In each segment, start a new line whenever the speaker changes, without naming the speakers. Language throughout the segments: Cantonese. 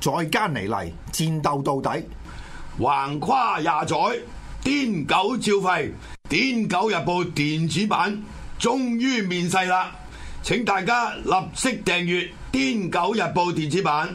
再加尼嚟，戰鬥到底。
橫跨廿載，癲狗照吠，癲狗日報電子版終於面世啦！請大家立即訂閱癲狗日報電子版。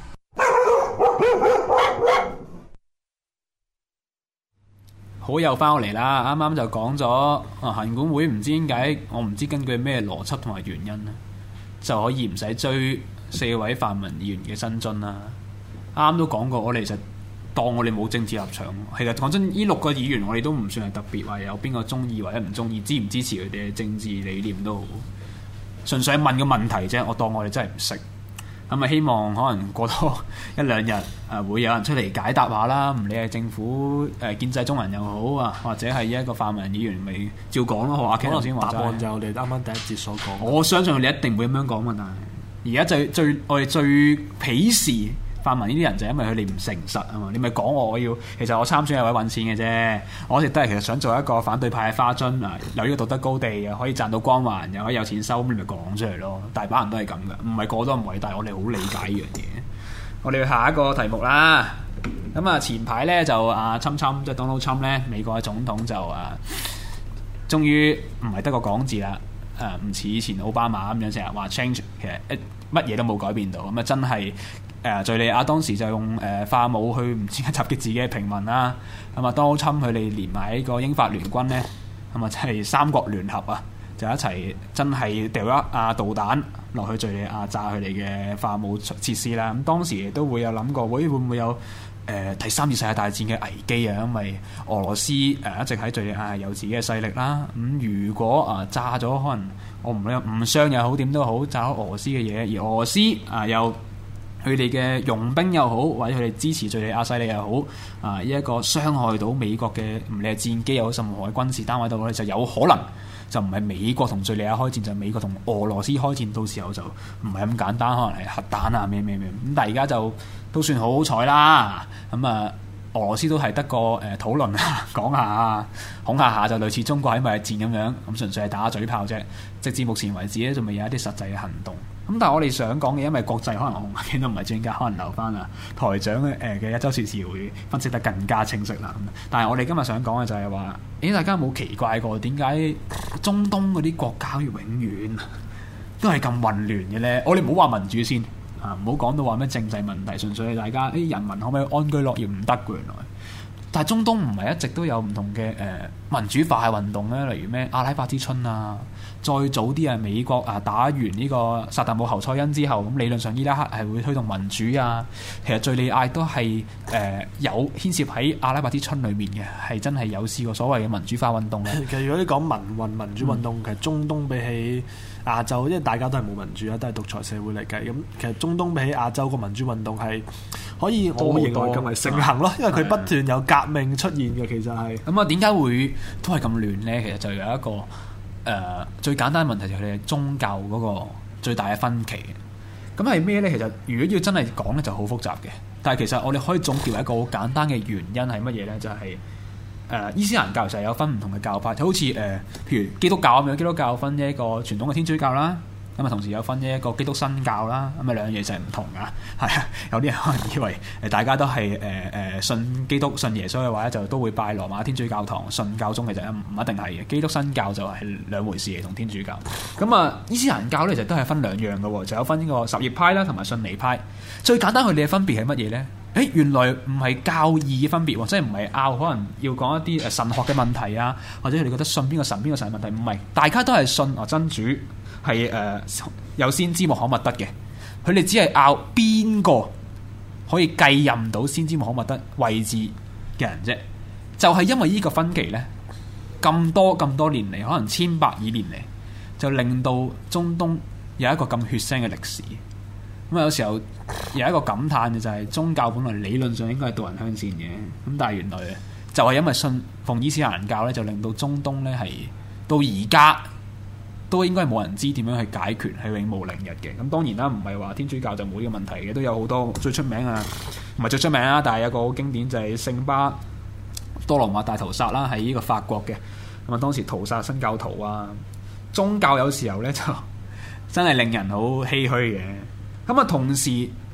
好又翻嚟啦！啱啱就講咗行管會唔知點解，我唔知根據咩邏輯同埋原因咧，就可以唔使追4位泛民議員嘅薪津啦。啱啱都講過，我哋其實當我哋冇政治立場。其實講真，呢6個議員我哋都唔算係特別話有邊個中意或者唔中意，支唔支持佢哋嘅政治理念都好，純粹係問個問題啫。我當我哋真係唔識。咁啊，希望可能過多1-2日會有人出嚟解答下啦。唔理係政府建制中人又好啊，或者係一個泛民議員，咪照講咯。阿 Ken 頭先話
答案就係我哋啱啱第一節所講。
我相信你一定會咁樣講嘛。但係而家我哋最鄙視泛民呢啲人就係因為佢哋唔誠實啊嘛。你咪講我要，其實我參選係為揾錢嘅啫。我一直都係其實想做一個反對派嘅花樽啊，有呢個道德高地，又可以賺到光環，又可以有錢收，咁你咪講出嚟咯。大把人都係咁噶，唔係個個都咁偉大。我哋好理解呢樣嘢。我哋去下一個題目啦。咁啊，前排咧就侵即係 Donald Trump 咧，美國嘅總統就終於唔係得個講字啦。唔似以前奧巴馬咁樣成日話 change， 其實乜嘢都冇改變到。咁啊，真係敍利亞當時就用化武去唔知點解襲擊自己嘅平民啦。咁啊，Donald Trump佢哋連埋呢個英法聯軍咧，咁啊真係三國聯合啊，就一齊真係掉一導彈落去敍利亞炸佢哋嘅化武設施啦。咁當時亦都會有諗過，會唔會有第3次世界大戰嘅危機啊？因為俄羅斯一直喺敍利亞有自己嘅勢力啦。咁如果炸咗，可能我唔理誤傷又好，點都好，炸咗俄羅斯嘅嘢，而俄羅斯又佢哋嘅傭兵又好，或者佢哋支持敍利亞勢力又好，呢一個傷害到美國嘅唔理係戰機又好，任何嘅軍事單位都好，就有可能就唔係美國同敍利亞開戰，就係美國同俄羅斯開戰。到時候就唔係咁簡單，可能係核彈啊咩咁。但係而家就都算好好彩啦。咁俄羅斯都係得個討論啊，講下恐嚇下，就類似中國喺貿易戰咁樣，咁純粹係打嘴炮啫。直至目前為止咧，仲未有一啲實際嘅行動。咁但係我哋想講嘅，因為國際可能我見都唔係專家，可能留翻台長嘅一周時事會分析得更加清晰啦。但係我哋今日想講嘅就係話，大家有冇奇怪過點解中東嗰啲國家永遠都係咁混亂嘅咧？我哋唔好話民主先唔好講到話咩政制問題，純粹係大家人民可唔可以安居樂業唔得嘅原來。但係中東唔係一直都有唔同嘅民主化嘅運動咧，例如咩阿拉伯之春啊，再早啲美國打完呢個薩達姆侯賽因之後，咁理論上伊拉克係會推動民主啊。其實敍利亞都係有牽涉喺阿拉伯之春裏面嘅，係真係有試過所謂嘅民主化運動嘅。
其實如果你講民主運動，其實中東比起亞洲，因為大家都係冇民主啊，都係獨裁社會嚟計。咁其實中東比起亞洲個民主運動係可以我認為更為盛行咯，因為佢不斷有革命出現嘅。其實係
咁啊，點解會都係咁亂呢？其實就有一個最簡單嘅問題，就係佢哋宗教嗰個最大嘅分歧。咁係咩呢？其實如果要真係講咧，就好複雜嘅。但係其實我哋可以總結為一個好簡單嘅原因係乜嘢呢？就係伊斯蘭教就係有分唔同嘅教派，就好似譬如基督教咁樣，基督教分一個傳統嘅天主教啦。咁啊，同時有分一個基督新教啦，咁啊兩樣嘢就係唔同噶，係啊，有啲人可能以為大家都係信基督、信耶穌嘅話咧，就都會拜羅馬天主教堂、信教宗，其實唔一定係嘅。基督新教就係兩回事嚟，同天主教。咁啊，伊斯蘭教咧其實都係分兩樣嘅喎，就有分呢個什葉派啦，同埋遜尼派。最簡單佢哋嘅分別係乜嘢咧？原來唔係教義嘅分別喎，即係唔係拗可能要講一啲神學嘅問題啊，或者佢哋覺得信邊個神嘅問題，唔係，大家都係信真主。係有先知穆罕默德嘅，佢哋只係拗邊個可以繼任到先知穆罕默德位置嘅人啫。就係因為呢個分歧呢，咁多年嚟，可能1,000-2,000年嚟，就令到中東有一個咁血腥嘅歷史。咁有時候有一個感嘆嘅就係，宗教本來理論上應該係導人向善嘅，咁但係原來就係因為信奉伊斯蘭教呢，就令到中東呢係到而家都應該係冇人知點樣去解決，係永無寧日嘅。咁當然啦，唔係話天主教就冇呢個問題嘅，都有好多最出名唔係最出名啦，但係有個好經典就係聖巴多羅馬大屠殺啦，喺呢個法國嘅。咁啊，當時屠殺新教徒啊，宗教有時候呢就真係令人好唏噓嘅。咁啊，同時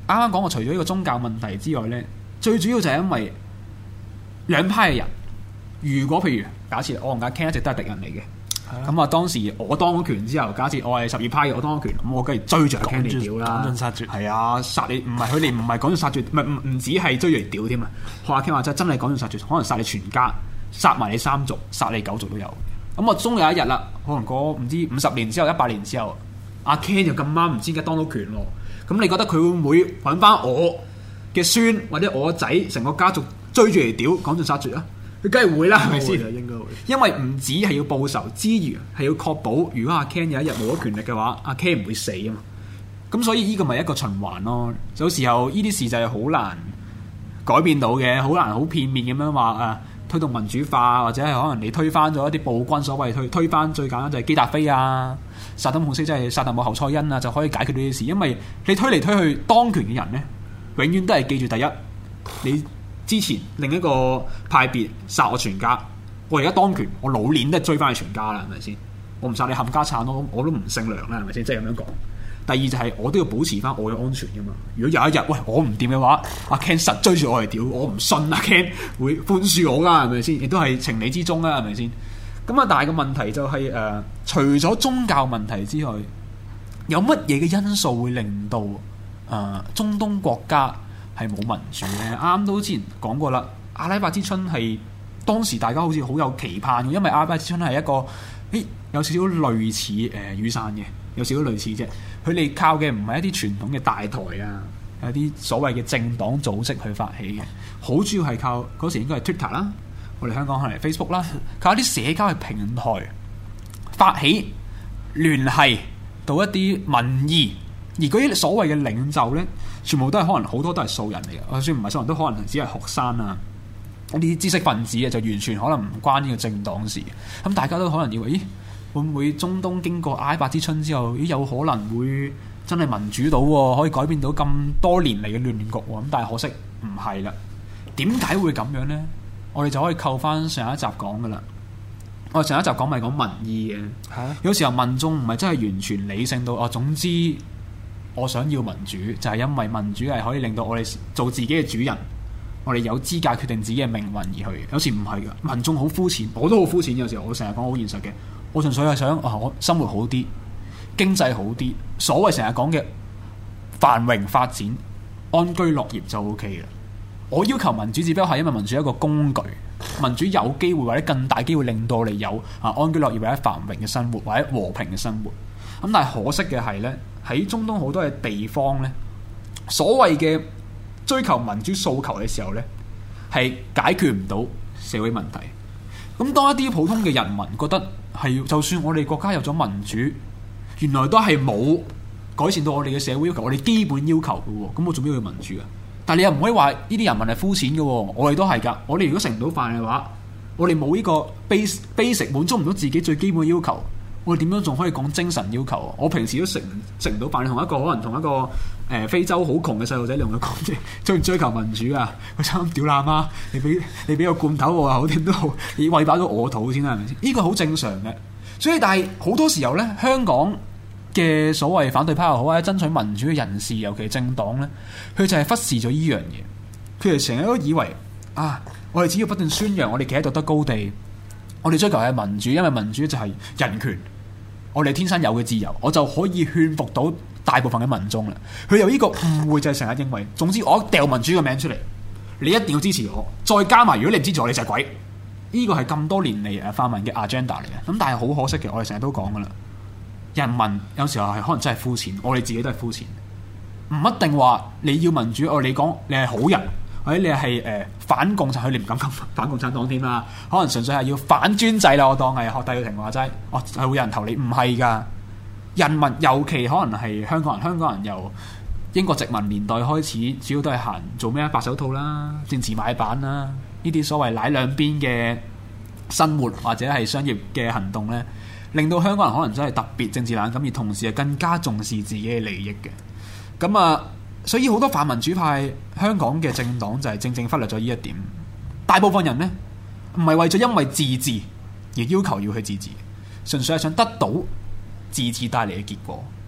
啱講過，除咗呢個宗教問題之外咧，最主要就係因為兩派嘅人，如果譬如假設我同阿 Ken 一直都係敵人嚟嘅。咁啊！當時我當咗權之後，假設我係12派嘅，我當咗權，咁我梗係追住阿 Ken 嚟屌啦，
趕盡殺絕。
係啊，殺你唔係佢哋唔係趕盡殺絕，唔止係追住嚟屌添啊！學阿 Ken 話真係趕盡殺絕，可能殺你全家，殺埋你3族，殺你9族都有。咁我終有一日啦，可能過唔知50年之後、100年之後，阿 Ken 就咁啱唔知點解當到權喎。咁你覺得佢會唔會揾翻我嘅孫或者我個仔成個家族追住嚟屌趕盡殺絕啊？佢梗係會啦，係咪先？
應該會，
因為唔止係要報仇之餘，係要確保如果阿 Ken 有一日冇咗權力嘅話，阿 Ken 唔會死啊嘛。咁所以呢個咪一個循環咯。有時候呢啲事就係好難改變到嘅，好難好片面咁樣話推動民主化，或者係可能你推翻咗一啲暴君，所謂推翻最簡單就係基達菲啊、薩德姆斯即係薩達姆侯賽因啊，就可以解決呢啲事。因為你推嚟推去當權嘅人呢，永遠都係記住第一你。之前另一個派別殺我全家，我而家當權，我老年都係追翻去全家啦，係咪先？我唔殺你冚家產咯，我都唔姓梁啦，係咪先？即係咁樣講。第二就係我都要保持翻我嘅安全噶嘛。如果有一日喂我唔掂嘅話，阿 Ken 實追住我嚟屌，我唔信阿 Ken 會寬恕我噶，係咪先？亦都係情理之中啦，係咪先？咁啊，但係個問題就係除咗宗教問題之外，有乜嘢嘅因素會令到中東國家係冇民主咧？啱都之前講過啦，阿拉伯之春係當時大家好似好有期盼嘅，因為阿拉伯之春係一個有少少類似雨傘嘅，有少少類似啫。佢哋靠嘅唔係一啲傳統嘅大台啊，有啲所謂嘅政黨組織去發起嘅，好主要係靠嗰時應該係 Twitter 啦，我哋香港可能係 Facebook 啦，靠一啲社交嘅平台發起聯繫到一啲民意。而嗰啲所謂嘅領袖呢，全部都係可能好多都係素人嚟嘅，就算唔係素人都可能只係學生啊，嗰啲知識分子啊，就完全可能唔關呢個政黨事。咁大家都可能以為，咦，會唔會中東經過阿拉伯之春之後，有可能會真係民主到喎，可以改變到咁多年嚟嘅亂局喎？咁但係可惜唔係啦。點解會咁樣呢？我哋就可以扣翻上一集講噶啦。我哋上一集講咪講民意嘅，有時候民眾唔係真係完全理性到總之。我想要民主，就係因為民主係可以令到我哋做自己嘅主人，我哋有資格決定自己嘅命運而去。有時唔係噶，民眾好膚淺，我都好膚淺。有時候我成日講好現實嘅，我純粹係想我生活好啲，經濟好啲，所謂成日講嘅繁榮發展、安居樂業就 OK 啦。我要求民主，只不過係因為民主係一個工具，民主有機會或者更大機會令到我哋有安居樂業或者繁榮嘅生活或者和平嘅生活。咁但係可惜嘅係呢，喺中東好多嘅地方呢，所謂嘅追求民主訴求嘅時候呢，係解決唔到社會問題。咁當一啲普通嘅人民覺得係，就算我哋國家有咗民主，原來都係冇改善到我哋嘅社會要求，我哋基本要求嘅喎。咁我做咩要民主啊？但係你又唔可以話呢啲人民係膚淺嘅喎，我哋都係㗎。我哋如果食唔到飯嘅話，我哋冇呢個 basic 滿足唔到自己最基本嘅要求。我哋點樣仲可以講精神要求啊？我平時都食唔到飯，你同一個可能同一個非洲好窮嘅細路仔，你同佢講追求民主啊？佢差咁屌喇媽，你俾個罐頭我好點都好，你餵飽咗我肚先啦，係咪先？呢個好正常嘅。所以但係好多時候咧，香港嘅所謂反對派又好或者爭取民主嘅人士，尤其係政黨咧，佢就係忽視咗呢樣嘢。佢哋成日都以為我哋只要不斷宣揚我哋企喺道德高地，我哋追求係民主，因為民主就係人權。我哋天生有嘅自由，我就可以勸服到大部分嘅民眾啦。佢有呢個誤會就係成日認為，總之我掉民主嘅名出嚟，你一定要支持我。再加埋，如果你唔支持我，你就係鬼。呢個係咁多年嚟泛民嘅 agenda 嚟嘅。咁但係好可惜嘅，我哋成日都講噶啦，人民有時候係可能真係膚淺，我哋自己都係膚淺，唔一定話你要民主，你講你係好人，或者你係反共產，佢哋唔敢講反共產黨添啦。可能純粹係要反專制啦。我當係學戴耀廷話齋，係會有人投你，唔係㗎。人民尤其可能係香港人，香港人由英國殖民年代開始，主要都係行做咩白手套啦、政治買辦啦，呢啲所謂奶兩邊嘅生活或者係商業嘅行動呢，令到香港人可能真係特別政治冷感，而同時係更加重視自己嘅利益嘅。咁所以好多泛民主派香港嘅政黨就係正忽略咗呢一點。大部分人呢，唔係為咗因為自治而要求要去自治，純粹係想得到自治帶嚟嘅結果。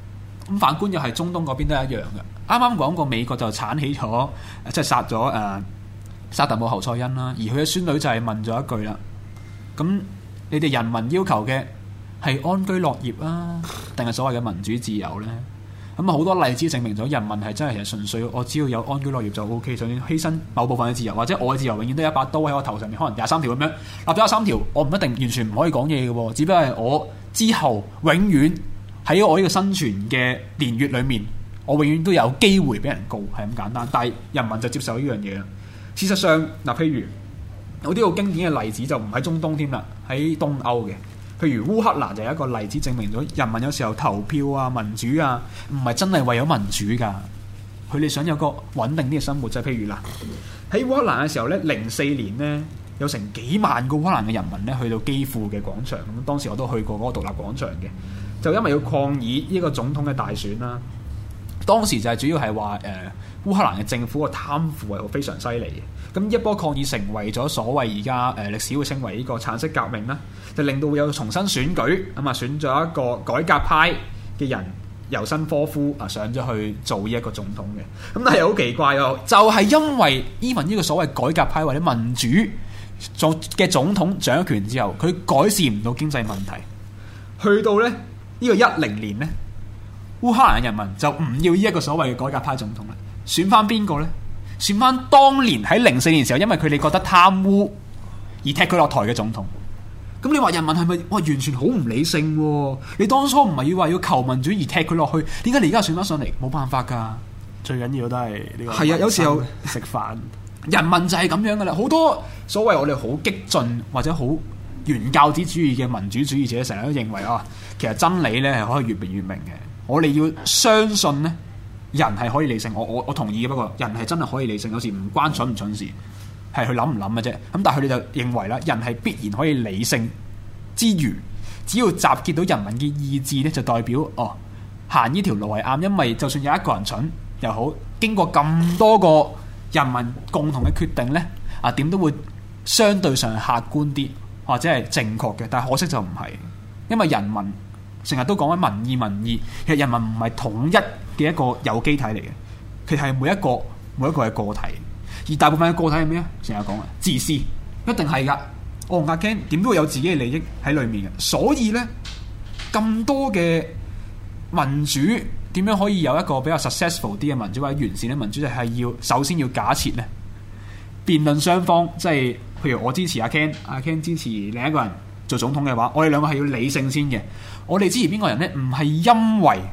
咁反觀又係中東嗰邊都係一樣嘅。啱啱講過美國就剷起咗，即係殺咗沙特姆侯賽因啦，而佢嘅孫女就係問咗一句啦：咁你哋人民要求嘅係安居樂業啊，定係所謂嘅民主自由呢？咁啊好多例子證明咗人民係真係純粹我只要有安居樂業就 OK， 就算犧牲某部分嘅自由，或者我嘅自由永遠都有一把刀喺我頭上面，可能23條咁樣立咗23條，我唔一定完全唔可以講嘢嘅喎，只不過係我之後永遠喺我呢個生存嘅年月裏面，我永遠都有機會俾人告，係咁簡單。但係人民就接受呢樣嘢啦。事實上嗱，譬如有啲好經典嘅例子就唔喺中東添啦，喺東歐嘅。譬如烏克蘭就有一個例子證明咗人民有時候投票啊、民主啊，唔係真係為咗民主㗎。佢哋想有個穩定啲嘅生活，就係譬如嗱，喺烏克蘭嘅時候咧，04年呢，有成幾萬個烏克蘭嘅人民咧去到基輔嘅廣場，咁當時我都去過嗰個獨立廣場嘅，就因為要抗議呢個總統嘅大選啦。當時就係主要係話烏克蘭嘅政府個貪腐係非常犀利嘅。咁一波抗議成為咗所謂而家歷史會稱為呢個橙色革命啦，就令到會有重新選舉，咁啊選咗一個改革派嘅人尤申科夫啊上咗去做呢一個總統嘅。咁但係好奇怪喎，就係因為 even 呢個所謂改革派或者民主嘅總統掌權之後，佢改善唔到經濟問題，去到咧呢個10年呢，烏克蘭人民就唔要呢一個所謂嘅改革派總統啦，選翻邊個呢？選翻當年喺04年時候，因為佢哋覺得貪污而踢佢落台嘅總統。咁你話人民係咪哇完全好唔理性喎？你當初唔係要話要求民主而踢佢落去，點解你而家選翻上嚟？冇辦法㗎，
最緊要都係呢個。
係啊，有時候
食飯，
人民就係咁樣㗎啦。好多所謂我哋好激進或者好原教旨主義嘅民主主義者，成日都認為其實真理咧係可以越辯越明嘅。我哋要相信呢。人係可以理性，我同意嘅。不過人係真係可以理性，有時唔關蠢唔蠢事，係佢諗唔諗嘅啫。咁但係佢哋就認為啦，人係必然可以理性之餘，只要集結到人民嘅意志咧，就代表行呢條路係啱。因為就算有一個人蠢又好，經過咁多個人民共同嘅決定咧，點都會相對上客觀啲或者係正確嘅。但係可惜就唔係，因為人民成日都講緊民意，其實人民唔係統一嘅一個有機體嚟嘅，佢係每一個係個體，而大部分嘅個體係咩啊？成日講啊，自私，一定係噶。我同阿 Ken 點都會有自己嘅利益喺裏面嘅，所以呢，咁多嘅民主點樣可以有一個比較 successful 啲嘅民主或者完善嘅民主，就係要首先要假設呢，辯論雙方即係譬如我支持阿 Ken， 阿 Ken 支持另一個人做總統嘅話，我哋兩個係要理性先嘅。我哋支持邊個人呢？唔係因為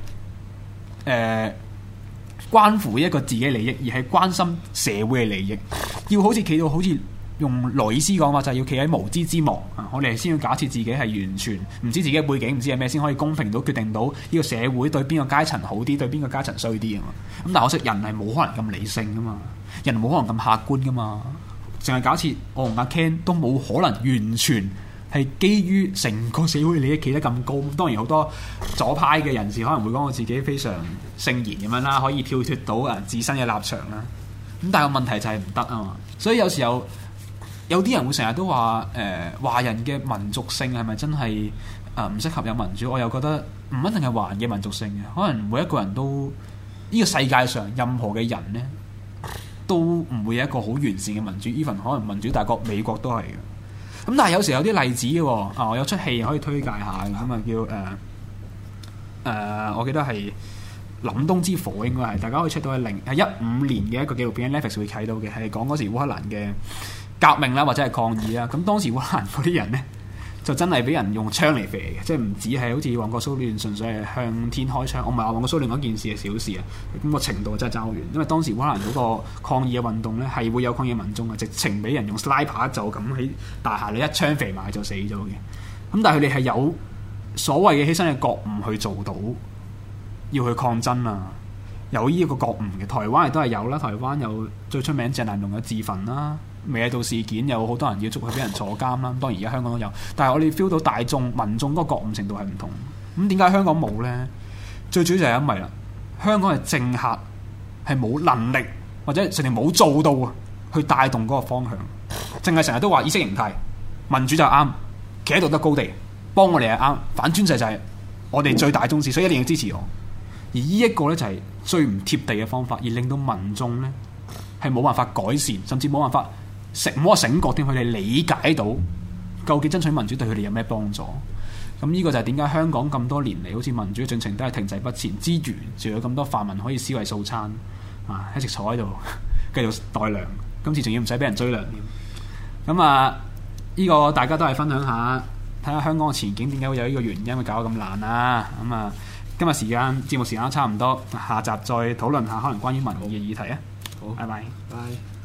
關乎一個自己利益，而係關心社會嘅利益。要好似企到好似用羅伊斯講話，就係要企喺無知之幕啊！我哋先要假設自己係完全唔知自己嘅背景，唔知係咩，先可以公平到決定到呢個社會對邊個階層好啲，對邊個階層衰啲啊嘛！咁但係可惜人係冇可能咁理性噶嘛，人冇可能咁客觀噶嘛，淨係假設我同阿 Ken 都冇可能完全係基於成個社會利益企得咁高。當然好多左派嘅人士可能會講我自己非常聖賢咁樣啦，可以跳脫到自身嘅立場啦。咁但係個問題就係唔得啊嘛。所以有時候有啲人會成日都話華人嘅民族性係咪真係唔適合有民主？我又覺得唔一定係華人嘅民族性嘅，可能每一個人都呢個世界上任何嘅人呢，都唔會有一個好完善嘅民主。even 可能民主大國美國都係嘅。咁但係有時有啲例子嘅我有出戲可以推介下嘅，咁叫我記得係凜冬之火，應該係大家可以 check 到係15年嘅一個紀錄片 Netflix 會睇到嘅，係講嗰時烏克蘭嘅革命啦或者係抗議啦。咁當時烏克蘭嗰啲人呢，就真係俾人用槍嚟射嘅，即係唔止係好似旺角騷亂純粹係向天開槍。我唔係話旺角騷亂嗰件事係小事啊，咁個程度真係爭好遠。因為當時烏克蘭嗰個抗議嘅運動呢，係會有抗議民眾啊，直情俾人用 sniper 就咁喺大廈你一槍射埋就死咗嘅。咁但係佢哋係有所謂嘅犧牲嘅覺悟去做到，要去抗爭啊，有呢一個覺悟嘅。台灣亦都係有啦，台灣有最出名鄭南榕嘅自焚啦。美野道事件有好多人要捉佢，俾人坐監啦。當然而家香港都有，但係我哋 feel 到大眾民眾嗰個覺悟程度係唔同。咁點解香港冇呢？最主要就係因為啦，香港嘅政客係冇能力或者甚至冇做到啊，去帶動嗰個方向。淨係成日都話意識形態民主就啱，企喺道德高地幫我哋係啱，反專制就係我哋最大宗旨，所以一定要支持我。 而呢一個呢，就係最唔貼地嘅方法，而令到民眾呢係冇辦法改善，甚至冇辦法唔好話醒覺添，佢哋理解到究竟爭取民主對佢哋有咩幫助。咁呢個就係點解香港咁多年嚟好似民主嘅進程都係停滯不前之餘，仲有咁多泛民可以思維素餐啊，一直坐喺度繼續代糧，今次仲要唔使俾人追糧添。咁啊，呢個大家都係分享下，睇下香港嘅前景點解會有呢個原因會搞到咁爛啊。咁啊，今日節目時間都差唔多，下集再討論下可能關於民意嘅議題啊。好，拜拜。
拜。